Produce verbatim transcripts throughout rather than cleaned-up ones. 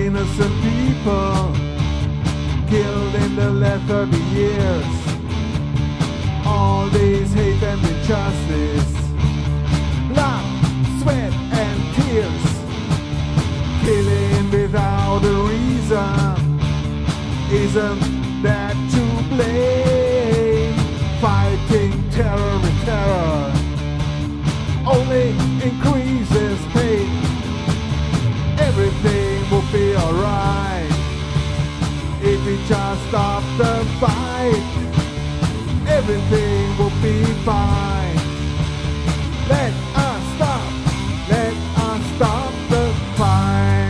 innocent people killed in the last thirty years. All this hate and injustice, blood, sweat and tears, killing without a reason, isn't that to blame? Fighting terror with terror only increases pain. Everything will be alright if we just stop the fight. Everything will be fine. Let us stop, let us stop the fight.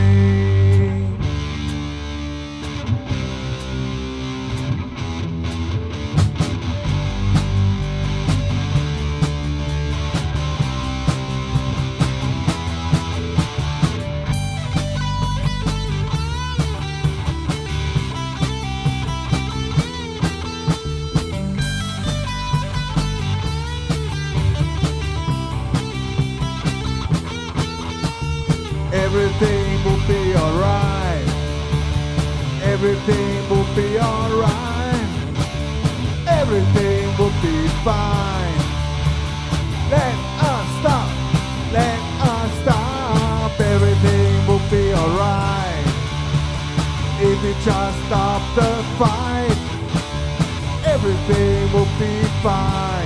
Everything will be alright. Everything will be alright. Everything will be fine. Let us stop. Let us stop. Everything will be alright if we just stop the fight. Everything will be fine.